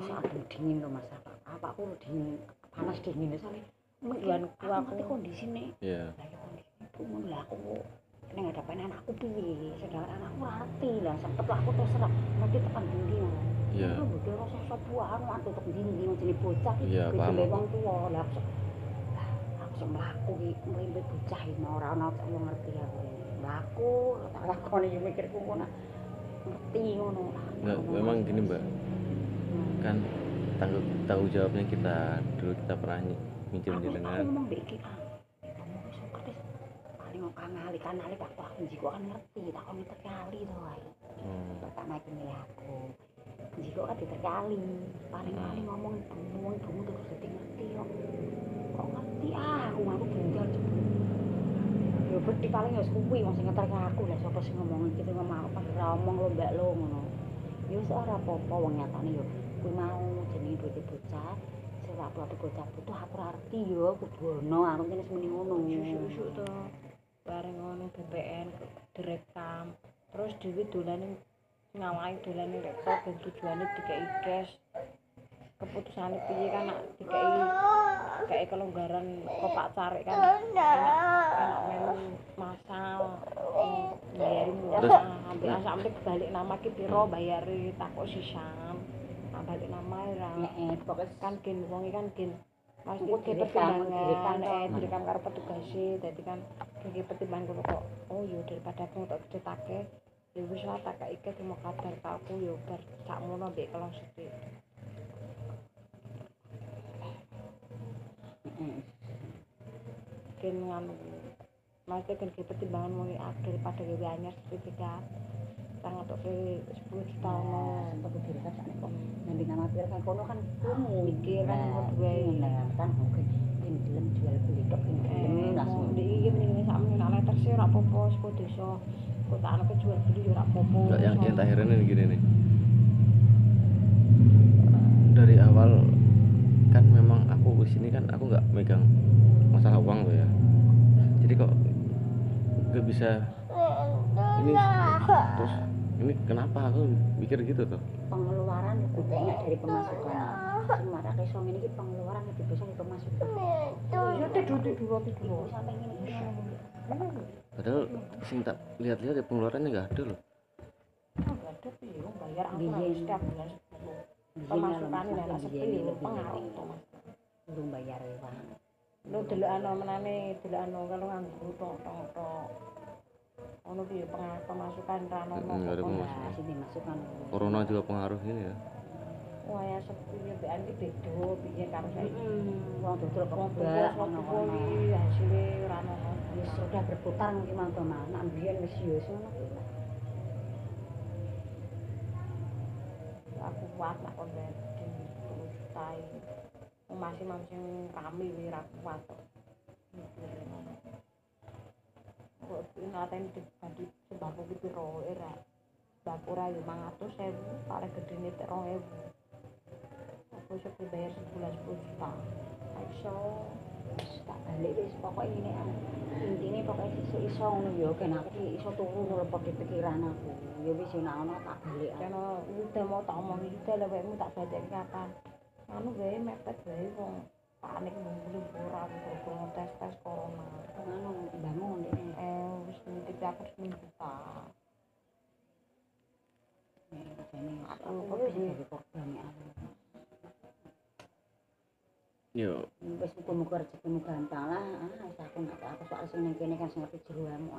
adem dingin loh Mas. Apakku dingin panas dingin soalnya mungkin aku kondisine. Iya. Lah ya kondisi ngono lah aku ning hadapan anakku piye sedangkan anakku ngerti lah sempet lah aku terserah ngerti tekan ndi ngono. Iya. Aku bodoh rasa sopuan atuh tek ndi jenenge bocah Iya, paham. Gede wong tuwa lah aku sing mlaku iki ngrimpit bocah iki ora ana wong ngerti aku. Mlaku tak lakoni yo mikirku ngono. Ngerti ngono. Nggak, memang gini Mbak, kan tanggung jawabnya kita dulu kita pernah minjem jenengan. Aku ngomong mbek iki kamu wis ngerti paling kanali waktu aku njiko kan ngerti tak kon terkali to wae. Pertama iki milih aku njiko kan diterkali paling ngomong ibumu terus dadi ngerti kok ngerti aku mau bundar jebul yo beti paling ya kuwi wong sing ngeterke aku lah sapa sing ngomong iki ngomong apa ora omong lo mbak lo ngono yo ora apa-apa wong nyatane yo kuwi mau jenenge duwe bocah sing waktu bocah butuh aku ora ngerti yo kudu ono aku kene semeni ngono susuk to bareng ngono BPN direkam terus dhewe dolane ngawahi dolane rekor dan tujuane dikei cash keputusane piye kan nak dikei kelonggaran kok Pak Carik kan enak melu masal bayari murah ambil asamnya balik nama ki piro bayari takut sisan balik nama ora pokoknya kan gen wong kan gen Mas iki pertimbangan direkam karo petugas dadi kan iki pertimbangan kok oh yo daripada aku tak cetake ya wis lah tak iki mau kadar aku yo bar sakmono mbek kelong sithik gen nganu mesti kan pertimbangan mau daripada gawe anyar sertifikat tang untuk 10 juta untuk dirikan sak kok nanti nama pir kan kono kan kumu mikir kan duwe kan oke ini dilem jual beli tok ini langsung iki mending sakmene nek letter sih ora apa-apa saka desa kok tak ana jual beli yo ora apa-apa yang terakhir ini gini nih dari awal kan memang aku kesini kan aku nggak megang masalah uang tuh ya jadi kok nggak bisa ini terus ini kenapa aku mikir gitu tuh pengeluaran lebih banyak dari pemasukan sementara iso ngene iki pengeluaran lebih besar dari pemasukan ya tidur sampai ngene padahal sing tak lihat-lihat ya pengeluarannya nggak ada loh enggak ada piye bayar angsuran setiap bulan pemasukannya lah sepi pengaruh to Mas belum bayar uang lu delokano menane delokano kalau nganggo tok ono piye pemasukan ra ono nggak ada pemasukan sini masukan corona juga pengaruh ini ya wah ya sepi mbekan iki beda piye karo saiki wong dodol kebak ono hasilé ora ono wis sudah berputar mungkin mangko nak mbiyen wis yo ngono aku kuat nak kon di jutai masih rame wi ra kuat kok ngaten dibanding sembako ki piro era sembako ra yo 500.000 paling gedene 2.000 aku iso bayar sebulan 10 juta iso tak balik wis pokoke ngene intine pokoke iso ngono yo kan aku iso turu ngelepok di pikiran aku ya wis nek ana tak balik kene udah mau tak omong iki lho wekmu tak balik kapan anu wae mepet wae wong panik mung ora kok tes corona ngono bangun wis nitip aku seminggu ta aku kok bisa korban ya yo wis muga-muga rezekimu gampang lah wis aku soal sing ning kene kan sing ngerti jeroanmu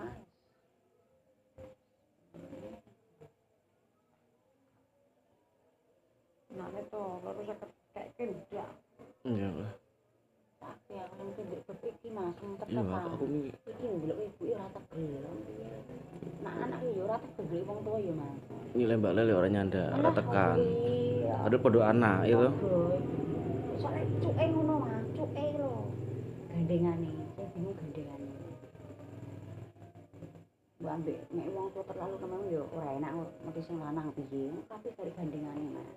nah itu lalu saya kayak kerja iya lah tapi aku mungkin berpikir mas iya aku mikir iki ndelok ibu ora tegel nah anak yo ora tegel wong tuwa yo mas nilai mbak lele orangnya ada ora tekan ada podo anak itu soalnya cuke ngono mas cuke lho gandengane saya bingung gandengane mbak ambek nek wong tuwa terlalu memang yo ora enak mesti sing lanang piye tapi dari gandengane mas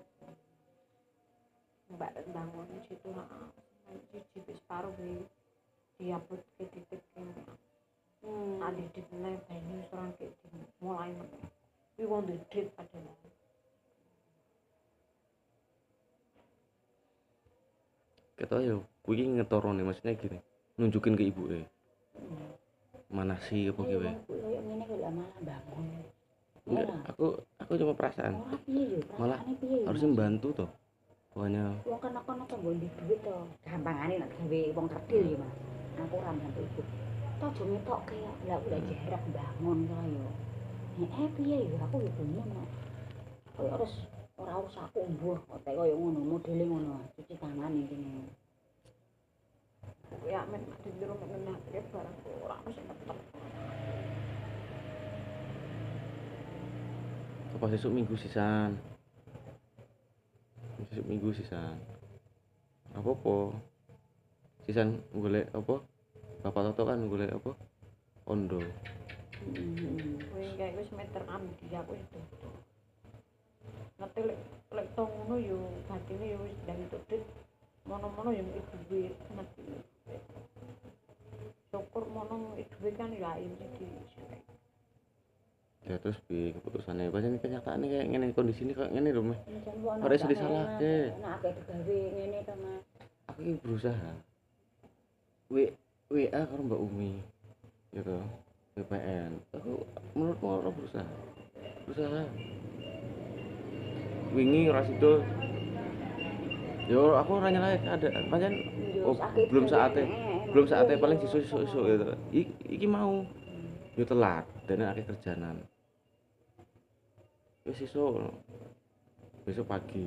mbak bangun di situ siji wis karo kuwi diaput ke titik kene ada di nang bani seorang ke mulai kuwi wong ndrit padahal ketok ya kuwi iki ngetorone maksudnya gini nunjukin ke ibuke mana sih apa Ayo kowe. wong kuwi koyo ngene kok lah malah bangun. Enggak, aku cuma perasaan Ora piye yo, malah perasaane piye yo. harusnya membantu toh pokoknya. Wong kan kono to nggo duit to. Gampangane nek gawe wong kerdil ya, Mas. Aku ora bantu ibu. Tok aja ngetokke ya. Lah udah jarak bangun kaya. Piye yo aku yo bingung kok. Kaya harus ora usah aku mbuh kok kaya ngono modele ngono. Cuci tangan iki ngene. Ya men dulu mengenal barang ora mesti tetep. Apa sesuk minggu sisan apa sisan golek apa bapak Toto kan golek apa ondo. Kuwi kayak wis meter dia aku itu. Ngerti lek tong ngono yo batine yo wis ndang tudit. Mono-mono yo iku duit ngerti. Syukur mono iku kan ya ini di Ya terus bi keputusannya pancen kenyataannya kayak ngene kondisi ini kayak ngene lho meh. Ora iso disalahke. Nek akeh digawe ngene to, Mas. Aku iki berusaha. WA karo Mbak Umi. Gitu. VPN. Aku menurutku ora berusaha. Wingi ora sido. Yo aku ora nyalahi keadaan. Pancen belum saatnya paling sesuk gitu. Iki mau yo telat dan akeh kerjaanan. Wis besok pagi.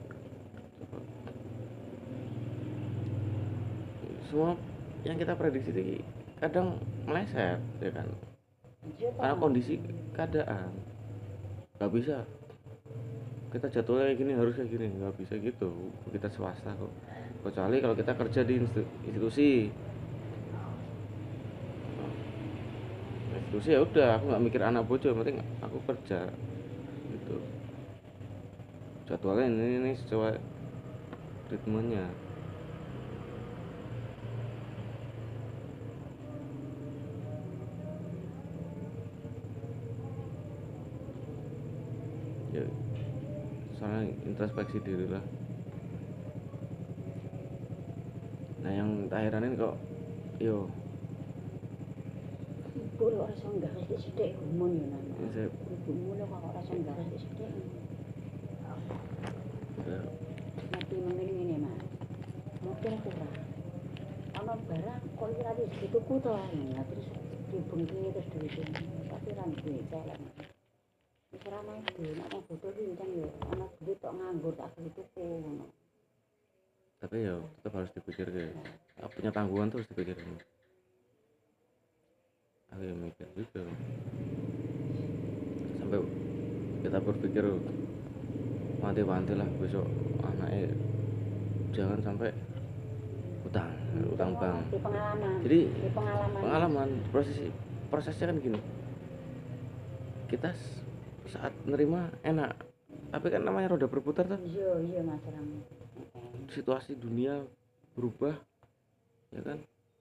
Semua yang kita prediksi ini kadang meleset ya kan. Karena kondisi keadaan. Gak bisa kita jadwalnya kayak gini harus kayak gini, nggak bisa gitu. Kita swasta kok. Kecuali kalau kita kerja di institusi ya udah aku nggak mikir anak bojo, penting aku kerja gitu. Jadwalnya ini sesuai ritmenya. Ya soalnya introspeksi diri lah. Nah yang terakhiran ini kok yo Ibu lho ora iso nggawe sithik gumun yo nang. Saya- Ibumu lho kok ora iso nggawe sithik. Mati ngene Mas. Mungkin kurang. Ana barang kok iki ra dituku to lah terus dibengki terus duwe. Tapi ra duwe celek. Wis ora nang duwe nek butuh pincen yo ana duit tok nganggur tak dituku ngono. tapi ya tetap harus dipikir punya tanggungan tuh harus dipikirin. Aku yang mikir gitu sampai kita berpikir wanti-wanti lah besok anaknya jangan sampai utang bank. Di pengalaman. Jadi Di pengalaman prosesnya kan gini, kita saat nerima enak tapi kan namanya roda berputar tuh, Iya Mas Ram. situasi dunia berubah ya kan.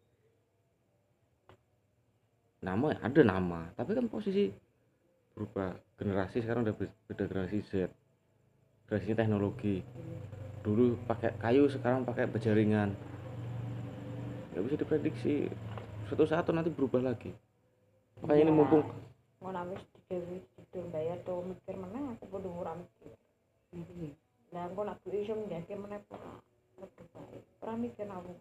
Nama ada nama tapi kan posisi berubah, generasi sekarang udah beda, generasi Z, generasi teknologi. Dulu pakai kayu sekarang pakai berjaringan, nggak bisa diprediksi, suatu saat tuh nanti berubah lagi. Makanya ini mumpung ngono wis digawe tidur bayar to mikir meneh aku kudu ora mikir. Lah engko nek iso nggake meneh ora bae. Ora mikir aku.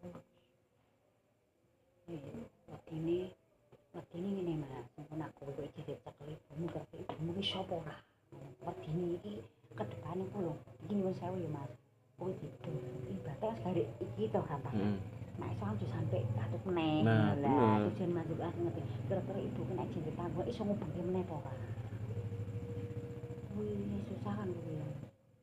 Ini ngene Mas, sampun aku kok iki dicekel ibumu karo ibumu ki sapa ora. Wedine iki kedepane ku lho. Iki nyuwun sewu ya Mas. Kuwi tidur. Ibaratnya garek iki to gampang. Nek iso aja sampe katut meneh. Nah, Lah tujuan masuk aku ngerti. Kira-kira ibu kena jenenge tanggung iso ngubengke meneh apa ora. Kuwi susah kan kuwi ya.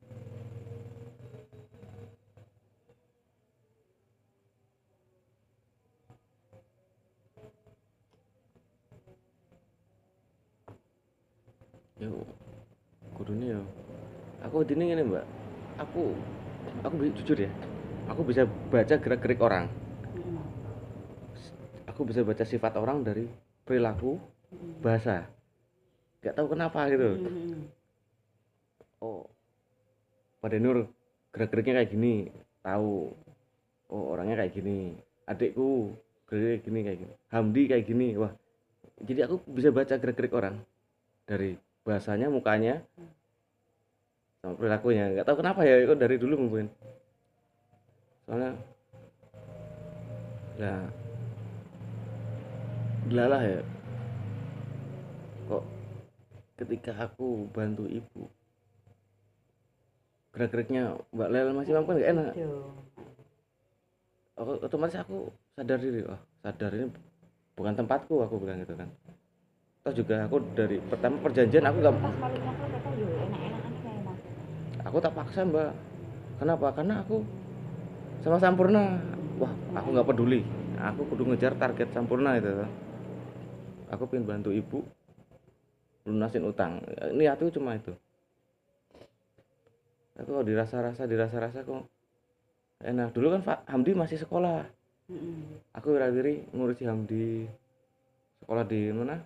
yo kudune yo aku dini ngene Mbak, aku jujur ya, aku bisa baca gerak-gerik orang, aku bisa baca sifat orang dari perilaku, bahasa, gak tahu kenapa gitu. Oh Pak Denur gerak-geriknya kayak gini, tahu oh orangnya kayak gini, adikku kayak gini kayak gini, Hamdi kayak gini. Wah, jadi aku bisa baca gerak-gerik orang dari bahasanya, mukanya, sama perilakunya. Nggak tahu kenapa ya, kok dari dulu mungkin. Soalnya ya delalah ya, kok ketika aku bantu ibu gerak-geriknya Mbak Lel masih mampu nggak enak. Gitu. Otomatis aku sadar diri, oh sadar ini bukan tempatku, aku bilang gitu kan. Toh juga aku dari pertama perjanjian aku nggak, Pas kali aku kata yo enak-enakan kayak Mas. aku tak paksa Mbak. Kenapa? Karena aku sama Sampurna, wah aku nggak peduli, aku kudu ngejar target Sampurna itu. Aku pengen bantu ibu lunasin utang, niatku cuma itu. Aku kok dirasa-rasa kok enak. Dulu kan Hamdi masih sekolah, aku wira-wiri ngurusi Hamdi sekolah di mana,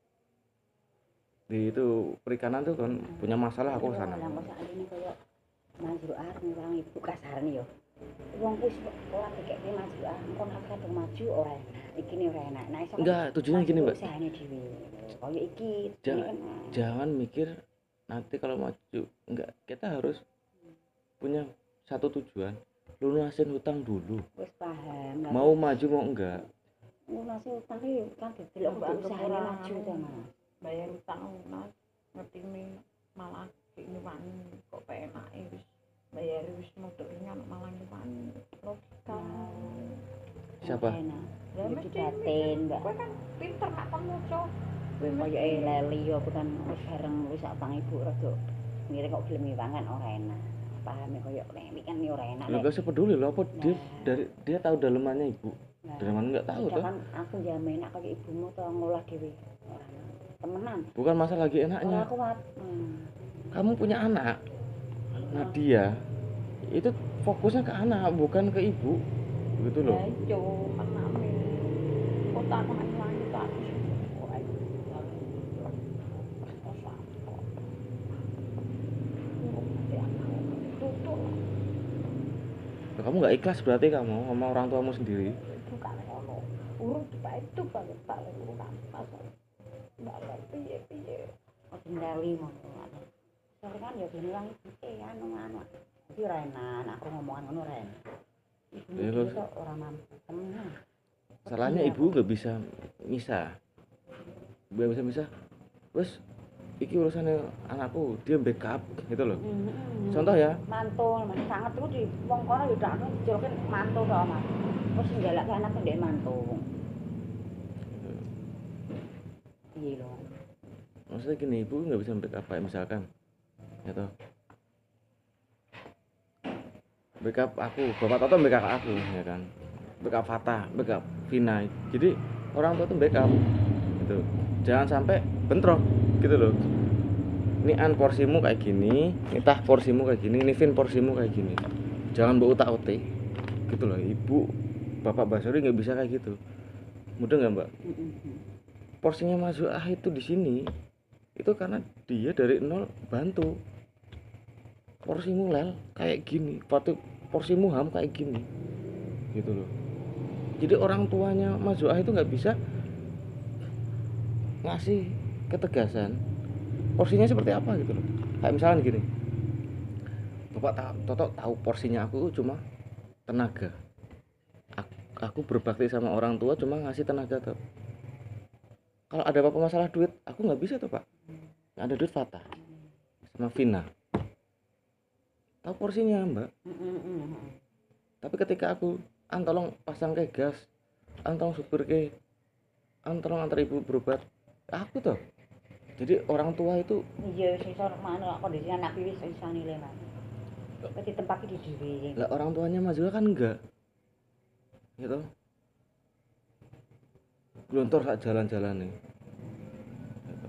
di itu perikanan tuh kan, punya masalah aku kesana. Lah kok sakjane koyo maju arep ngurang ibu kasarane yo. Wong wis sekolah dikek maju engko nek kadung maju ora enak. Iki ora enak. Nah iso. Enggak, tujuannya gini Mbak. Usahane dhewe. Koyo iki. Jangan mikir nanti kalau maju, enggak, kita harus punya satu tujuan, lunasin hutang dulu. Wis paham. Mau maju mau enggak. Lunasin hutang iki kan didelok usahane maju ta Mas. Bayar utang lunas ngetimi malah ini wani kok penake wis bayar wis modalnya malah nyuwani logika. Siapa? Ya Mesti mesti batin, Mbak. kowe kan pinter nak kon moco. Koyo leli yo aku kan wis bareng wis sak bang ibu rada ngire kok gelem ngiwangan ora enak. Paham ya koyo nek kan yo ora enak. Lu gak usah peduli loh, apa dia tahu dalemannya ibu. Daleman enggak tahu tuh. Kan aku jamin enak kaya ibumu to ngolah dhewe. Ora temenan. Bukan masalah lagi enaknya. Ora kuat. Kamu punya anak. Nah dia itu fokusnya ke anak, bukan ke ibu. Gitu loh. Ya ijo mename. Kota kan lanjut aku sih. Ora iso. Kamu nggak ikhlas berarti kamu sama orang tuamu sendiri. Bukan ngono. Urung itu banget paling urusan masalah. Mbak piye-piye. Kok kendali ngono. Soale kan ya gelem ilang anu. Iki ora enak, aku ngomongan ngono ora enak. Ibu kok ora mampu temenan. Salahnya ibu nggak bisa misah. Nggak bisa misah. Terus iki urusannya anakku, dia backup gitu loh. Contoh ya, Mantul, Mas sangat iku di wong kono yo dak dijoloke mantul to, Mas. Wis nggalake anake ndek mantul. Iya loh. maksudnya gini, ibu nggak bisa backup kayak misalkan, gitu. Backup aku, Bapak Toto backup aku, ya kan. Backup Fatah, backup Vina. Jadi orang tua tuh backup, gitu. Jangan sampai bentrok, gitu loh. Ini an porsimu kayak gini, ini tah porsimu kayak gini, ini Vin porsimu kayak gini. Jangan bawa utak-utik, gitu loh. Ibu, Bapak Basuri nggak bisa kayak gitu. Mudah nggak Mbak? Porsinya Mas Ah itu di sini, itu karena dia dari nol bantu. Porsimu Lel kayak gini, porsimu Ham kayak gini, gitu loh. Jadi orang tuanya Mas Ah itu nggak bisa ngasih ketegasan porsinya seperti apa gitu loh. Kayak misalnya gini, Bapak Toto tahu porsinya aku cuma tenaga. Aku berbakti sama orang tua cuma ngasih tenaga tuh. Kalau ada apa-apa masalah duit, aku nggak bisa tuh Pak. Nggak ada duit Fatah sama Vina. Tahu porsinya Mbak. Tapi ketika aku tolong pasang ke gas, tolong supir ke, tolong antar ibu berobat, aku tuh. Jadi orang tua itu Iya wis iso mana kondisi anak wis iso nilai Mas. Kok ditempaki di dhewe. lah, orang tuanya Mas Zula kan enggak. Gitu. Glontor sak jalan-jalan nih. Gitu.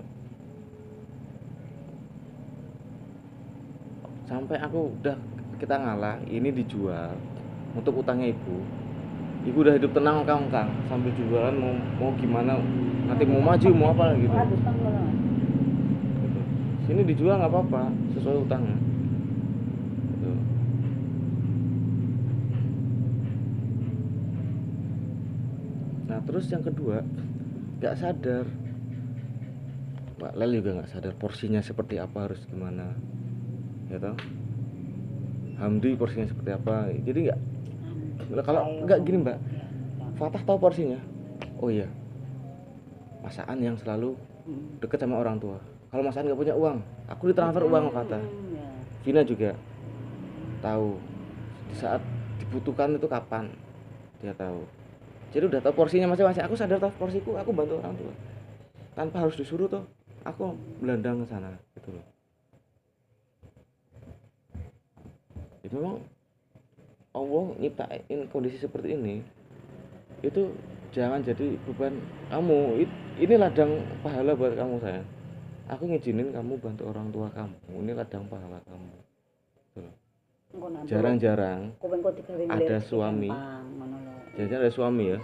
Sampai aku udah kita ngalah, ini dijual untuk utangnya ibu. Ibu udah hidup tenang Kang, sambil jualan mau gimana, nanti mau maju mau apa gitu. Ora utang ngono. Gitu. Sini dijual nggak apa-apa sesuai utangnya. Gitu. gimana. Terus yang kedua, nggak sadar, Mbak Lel juga nggak sadar porsinya seperti apa, harus gimana, ya toh. Hamdi porsinya seperti apa. Jadi kalau nggak gini Mbak, Fatah tahu porsinya. Oh iya, Masaan yang selalu deket sama orang tua. Kalau Masaan nggak punya uang, aku ditransfer uang sama Fatah. Vina juga tahu di saat dibutuhkan itu kapan, dia tahu. Jadi udah tahu porsinya masing-masing. Aku sadar tahu porsiku, aku bantu orang tua tanpa harus disuruh tuh. Aku belandang ke sana gitu loh. Ya memang Allah nyiptain kondisi seperti ini, itu jangan jadi beban kamu. Ini ladang pahala buat kamu sayang. Aku ngizinin kamu bantu orang tua kamu, ini ladang pahala kamu gitu loh. Jarang-jarang ada suami, jarang-jarang ada suami ya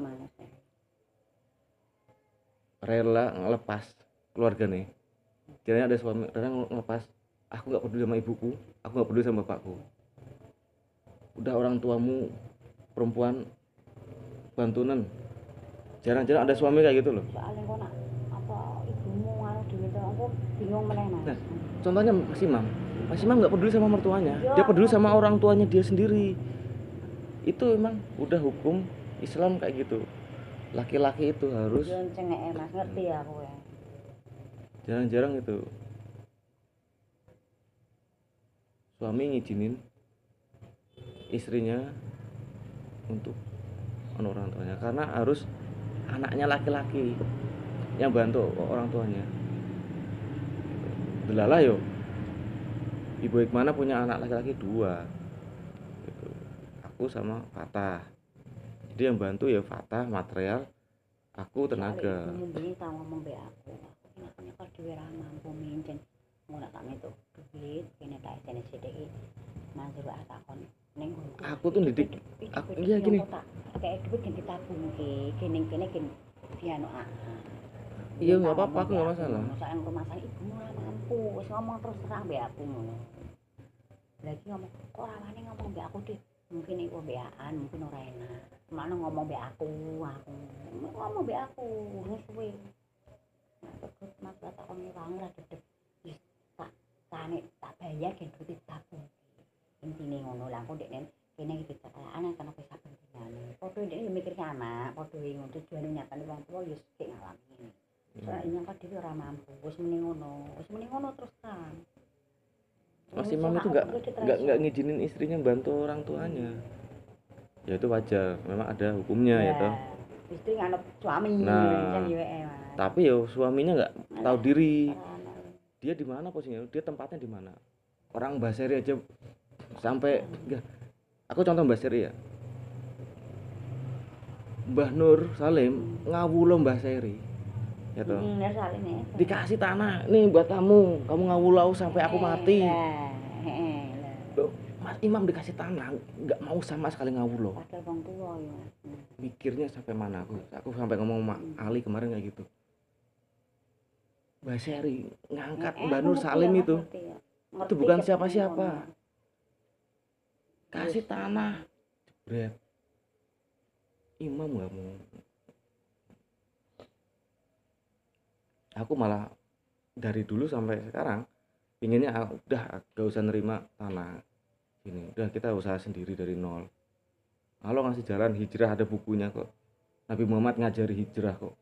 rela ngelepas keluarga nih. Jarang ada suami rela ngelepas, aku nggak peduli sama ibuku, aku nggak peduli sama bapakku. Udah orang tuamu perempuan bantunan, jarang-jarang ada suami kayak gitu loh. Soalnya kok nak apa ibumu anu dhewe aku bingung meneh Mas. Nah, contohnya Mas Imam nggak peduli sama mertuanya, dia peduli sama orang tuanya dia sendiri. Itu emang udah hukum Islam kayak gitu. Laki-laki itu harus cengek Mas, ngerti aku ya. Jarang-jarang itu suami ngizinin istrinya untuk orang tuanya, karena harus anaknya laki-laki yang bantu orang tuanya. Delalah yo, Ibu Hikmana punya anak laki-laki 2 gitu. Aku sama Fatah, jadi yang bantu ya Fatah material, aku tenaga. Ibu tahu ngomong be aku nyakal dhewe ra mampu mincen ngono tak metu duit kene tak jane sithik manjur takon ning aku tuh didik aku iya gini kayak duit yang ditabungke kene dianu iya nggak apa-apa, aku nggak masalah. Soalnya rumah ibumu ora mampu, wis ngomong terus terang be aku ngono. Lagi ngomong kok ora wani ngomong be aku deh, mungkin iku beaan, mungkin ora enak. Mana ngomong be aku ngomong be aku wis kuwi. Mas tak kon wong ra dedep wis tak bayar gen duit tabung. Intine ngono lah kok dekne kene iki anak kan wis saben dinane. Padha dekne mikir anak, padha ngono tujuane nyatane wong tuwa ya sik ngalami. Soalnya kan dhewe ora mampu, wis muni ngono terus kan. Mas Imam itu enggak ngizinin istrinya bantu orang tuanya. Ya itu wajar, memang ada hukumnya ya toh. Istri nganut suami nah, tapi yo suaminya nggak tahu diri. Dia di mana posisinya? Dia tempatnya di mana? Orang Mbak Seri aja sampai enggak. Aku contoh Mbak Seri ya. Mbah Nur Salim ngawulo Mbah Seri. Ya toh. Dikasih tanah, nih buat kamu ngawulau sampai aku mati. Loh, Mas Imam dikasih tanah, nggak mau sama sekali ngawulo. Padahal wong tua ya. Mikirnya sampai mana aku sampai ngomong sama Ali kemarin kayak gitu. Mbak Seri ngangkat Mbah Nur Salim itu bukan siapa-siapa. Kasih tanah, jebret. Imam nggak mau. Aku malah dari dulu sampai sekarang pinginnya udah gak usah nerima tanah ini, udah kita usaha sendiri dari nol. Kalau ngasih jalan hijrah ada bukunya kok, Nabi Muhammad ngajari hijrah kok.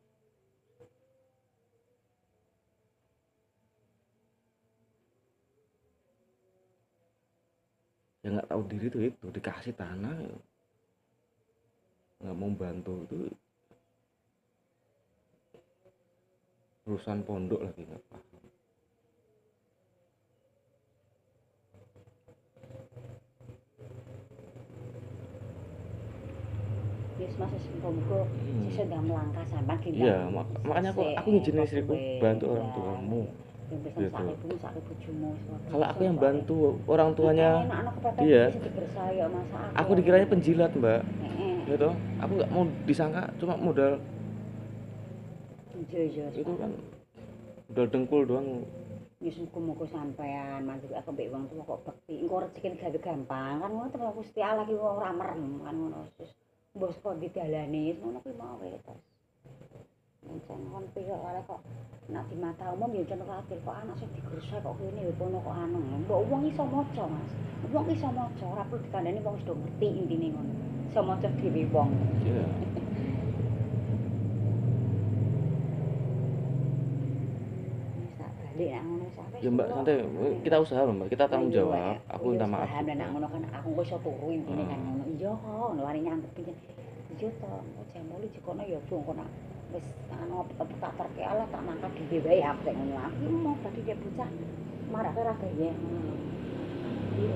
Yang nggak tahu diri tuh itu dikasih tanah nggak mau bantu, itu urusan pondok lagi nggak paham. Yes mas muga sesuk dah melangkah sampai kita. Iya, makanya aku ngizinin istriku bantu orang tuamu. Gitu. Kalau aku yang bantu orang tuanya dia, aku dikiranya penjilat mbak. Gitu, aku nggak mau disangka cuma modal. Itu kan udah dengkul doang. Wis muga-muga sampean manjur aku mbek wong tuwa kok bekti. Engko rezeki gawe gampang kan ngono terus Gusti Allah ki ora merem kan ngono. Mbok kok didalani ngono kuwi mau terus. Mencen kon piye kok nek di mata umum ya jan khawatir kok anak sing digresek kok kene ya kono kok anu. Mbok wong iso maca, Mas. Wong iso maca, ora perlu dikandani wong wis do ngerti intine ngono. Iso maca dhewe wong. Iya. Balik nang ngono sampe. Ya Mbak, santai. Kita usaha loh Mbak. Kita tanggung jawab. Aku minta maaf. Paham nang ngono kan aku kok iso turu intine kan ngono. Iya kok, ngono wani nyangkep iya to. Jam 8 jikono ya wong kok wis anu tak terke ala tak mangkat dhewe wae aku ngono. Aku mau tadi dia bocah marake ra gawe ngono. Iya.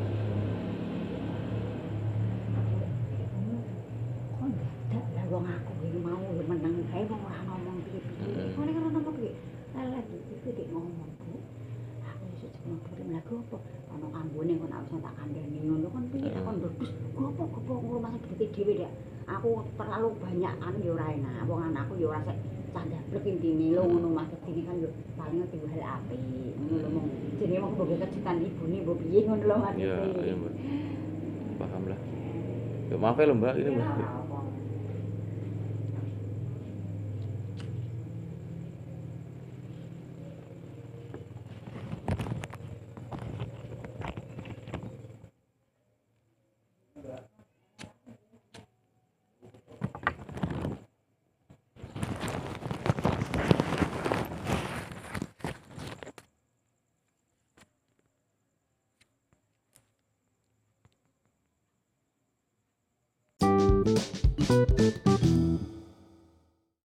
Kok dadak lah wong aku iki mau ya meneng kae wong ora ngomong piye-piye. Kone karo ngomong piye? Lah iki dik ngomong Bu. Aku iso cuma kirim lagu apa? Ono kambone kok nek tak kandhani ngono kan piye kon ndus. Gopo ngurus gede dhewe dak. Aku terlalu banyak anu ya ora enak. Wong anakku ya ora sek candablek intine lho ngono Mas. Dene kan yo paling timbul hal apik. Ngono lho mong jenenge wong mbok kejutan ibune mbok piye ngono lho Mas. Iya, iya Mbak. Paham lah. Ya maaf ya lho Mbak, ini Mbak.